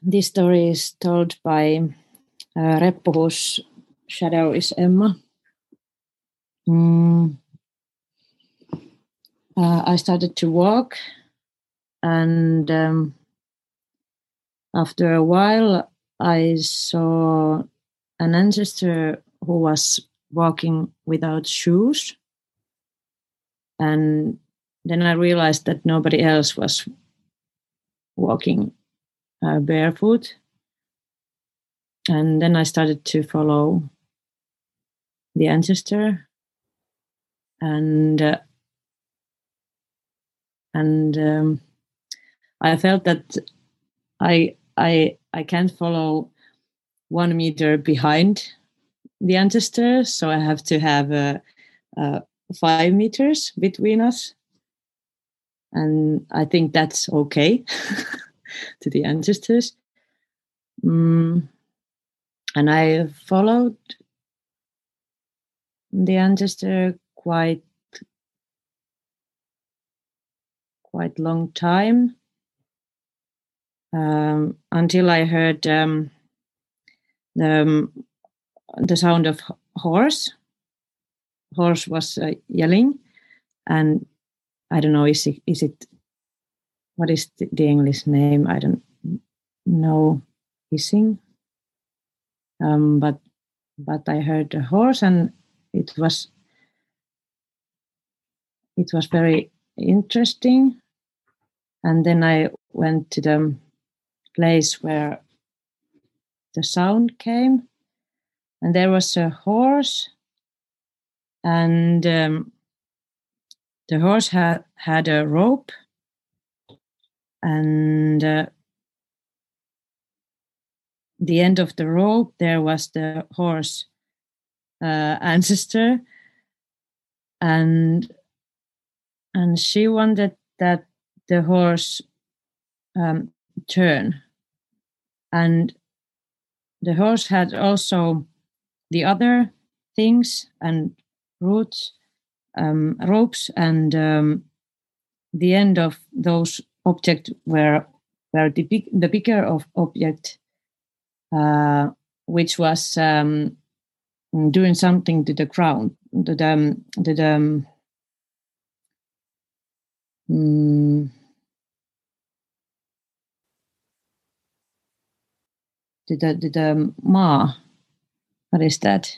this story is told by Reppu, whose shadow is Emma. I started to walk, and after a while, I saw an ancestor who was walking without shoes. And then I realized that nobody else was walking barefoot. And then I started to follow the ancestor. And I felt that I can't follow 1 meter behind the ancestor, so I have to have 5 meters between us, and I think that's okay to the ancestors. And I followed the ancestor quite long time, until I heard the sound of horse. Horse was yelling, and I don't know, is it what is the English name? I don't know. Hissing, but I heard a horse, and it was very interesting. And then I went to the place where the sound came, and there was a horse, and the horse had a rope, and the end of the rope there was the horse ancestor, and she wanted that the horse turn, and the horse had also the other things and ropes, and the end of those objects were the bigger of object, which was doing something to the ground, to the maa. What is that?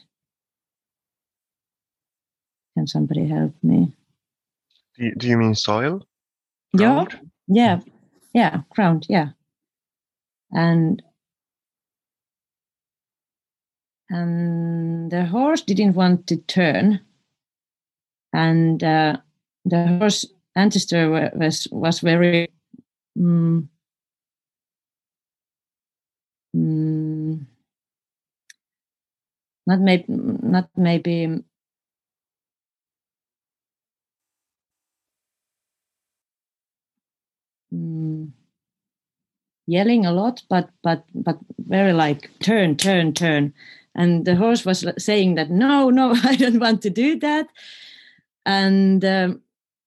Can somebody help me? Do you mean soil? Ground? Yeah, ground, yeah. And the horse didn't want to turn, and the horse ancestor was very not maybe yelling a lot, but very like turn, and the horse was saying that no, I don't want to do that, and then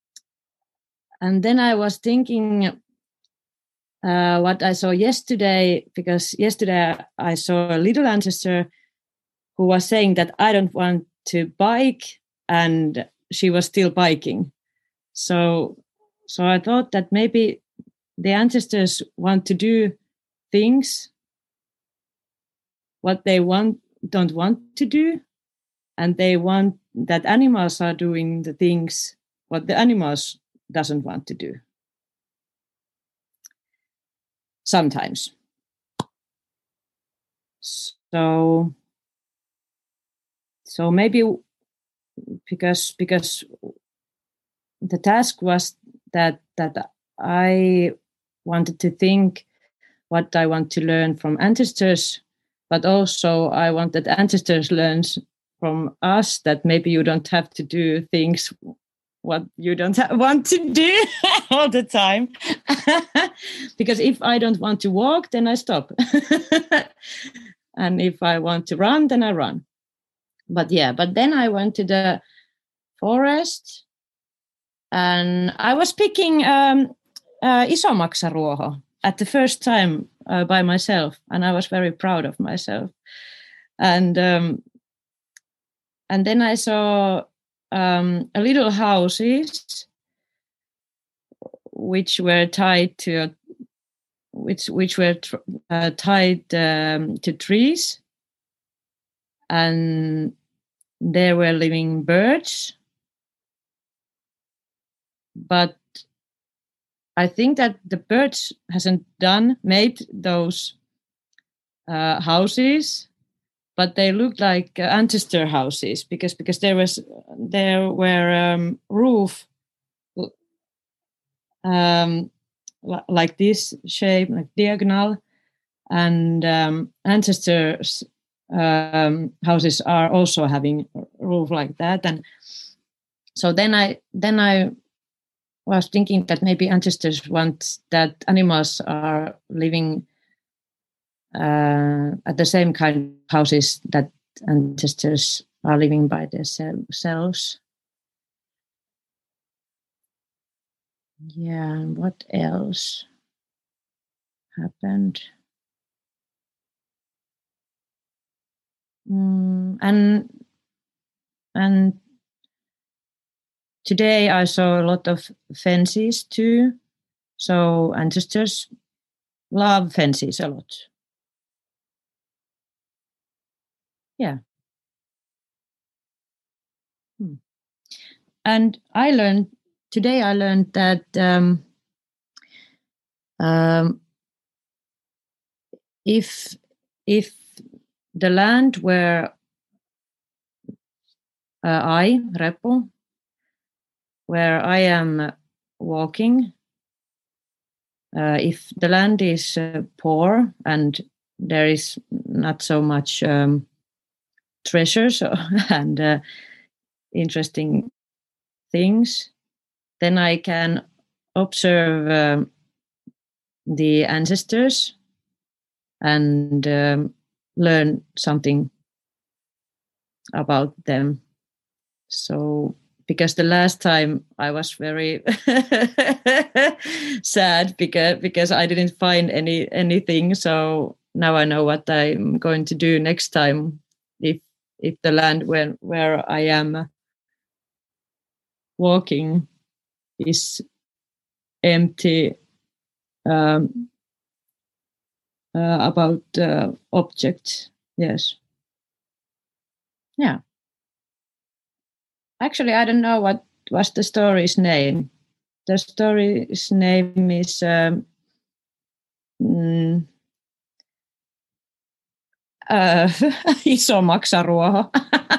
I was thinking what I saw yesterday, because yesterday I saw a little ancestor who was saying that I don't want to bike, and she was still biking. So I thought that maybe the ancestors want to do things what they don't want to do, and they want that animals are doing the things what the animals doesn't want to do. Sometimes. So maybe because the task was that I wanted to think what I want to learn from ancestors, but also I want that ancestors learn from us that maybe you don't have to do things what you don't want to do all the time. Because if I don't want to walk, then I stop. And if I want to run, then I run. But then I went to the forest, and I was picking Isomaksaruoho at the first time by myself, and I was very proud of myself. And then I saw a little houses which were tied to tied to trees, and there were living birds. But I think that the birds hasn't made those houses, but they looked like ancestor houses because there were roof like this shape, like diagonal, and ancestors houses are also having a roof like that. And so then I was thinking that maybe ancestors want that animals are living at the same kind of houses that ancestors are living by themselves. Yeah, what else happened? And today I saw a lot of fences too. So ancestors love fences a lot. Yeah. And today I learned that if the land where Repo, where I am walking, if the land is poor and there is not so much treasures and interesting things, then I can observe the ancestors and learn something about them. So, because the last time I was very sad because I didn't find anything. So now I know what I'm going to do next time if the land where I am walking is empty about objects. Yes. Yeah. Actually, I don't know what was the story's name. The story's name is Iso maksaruoho.